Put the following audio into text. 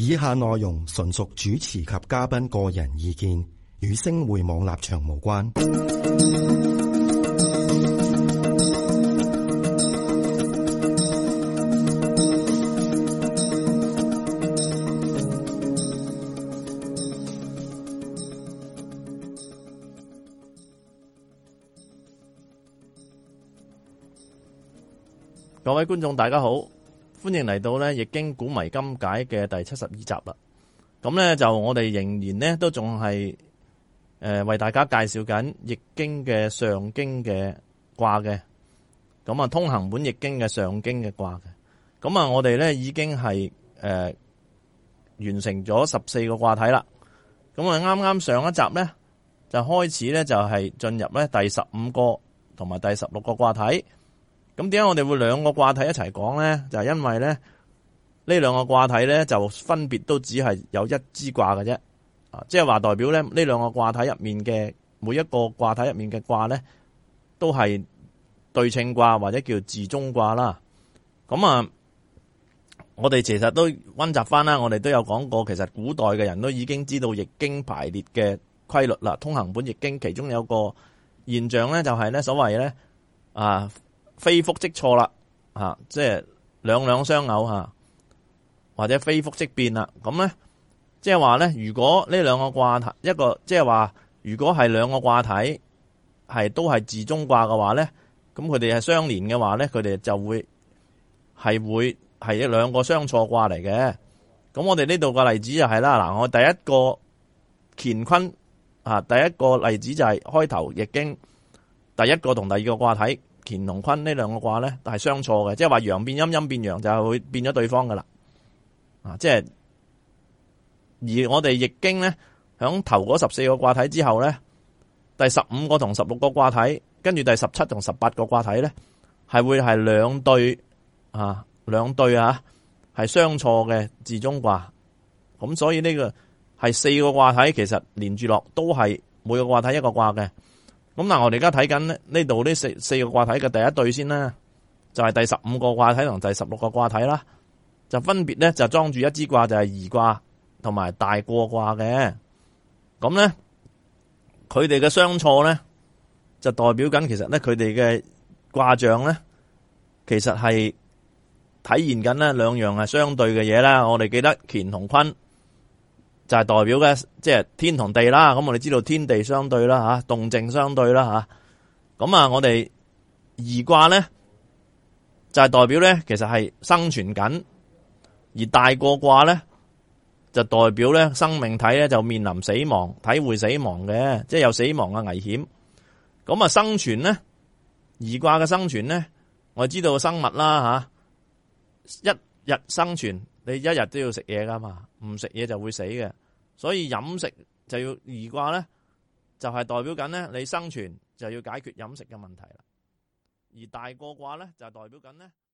以下內容純屬主持及嘉賓個人意見，與星匯網立場無關。 各位觀眾大家好，歡迎嚟到呢《易經古謎今解》嘅第72集啦。咁呢，就我哋仍然呢都仲係為大家介紹緊《易經》嘅上經嘅卦嘅。咁啊，通行本《易經》嘅上經嘅卦嘅。咁啊，我哋呢已經係完成咗14個卦體啦。咁啊，啱啱上一集呢就開始呢就係進入呢第15個同埋第16個卦體。咁點解我哋會兩個卦體一齊講咧？就係因為咧呢兩個卦體咧就分別都只係有一支卦嘅啫，即係話代表咧呢兩個卦體入面嘅每一個卦體入面嘅卦咧都係對稱卦或者叫自中卦啦。咁啊，我哋其實都溫習翻啦，我哋都有講過，其實古代嘅人都已經知道易經排列嘅規律啦。通行本易經其中有個現象咧，就係咧所謂咧非複即錯啦，即係兩兩相偶吓，或者非複即變啦。咁咧，即係話咧，如果呢兩個卦體一個，即係話如果係兩個卦體係都係自中卦嘅話咧，咁佢哋係相連嘅話咧，佢哋就會係兩個相錯卦嚟嘅。咁我哋呢度個例子就係啦，嗱，我第一個乾坤第一個例子就係開頭易經第一個同第二個卦體。乾同坤呢兩個卦咧，係相錯嘅，即係話陽變陰，陰變陽，就係會變咗對方噶啦。即係而我哋易經咧，響頭嗰14個卦體之後咧，第15個同16個卦體，跟住第17同18個卦體咧，係會係兩對係相錯嘅自中卦。咁所以呢個係4個卦體，其實連住落都係每個卦體一個卦嘅。咁嗱，我哋而家睇緊呢度呢四個卦體嘅第一對先啦，就係第15個卦體同第16個卦體啦，就分別咧就裝住一支卦，就係儀卦同埋大過卦嘅。咁咧，佢哋嘅相錯咧，就代表緊其實咧佢哋嘅卦象咧，其實係體現緊咧兩樣係相對嘅嘢啦。我哋記得乾同坤，就係代表嘅，即係天同地啦。咁我哋知道天地相對啦，吓動靜相對啦，吓咁啊。我哋儀卦咧就係代表咧，其實係生存緊；而大過卦咧就代表咧生命體咧就面臨死亡，體會死亡嘅，即係有死亡嘅危險。咁啊，生存咧，儀卦嘅生存咧，我哋知道生物啦，吓一日生存。你一日都要食嘢噶嘛，唔食嘢就會死嘅，所以飲食就要儀卦咧，就係代表緊咧你生存就要解決飲食嘅問題啦。而大過卦咧就係代表緊咧。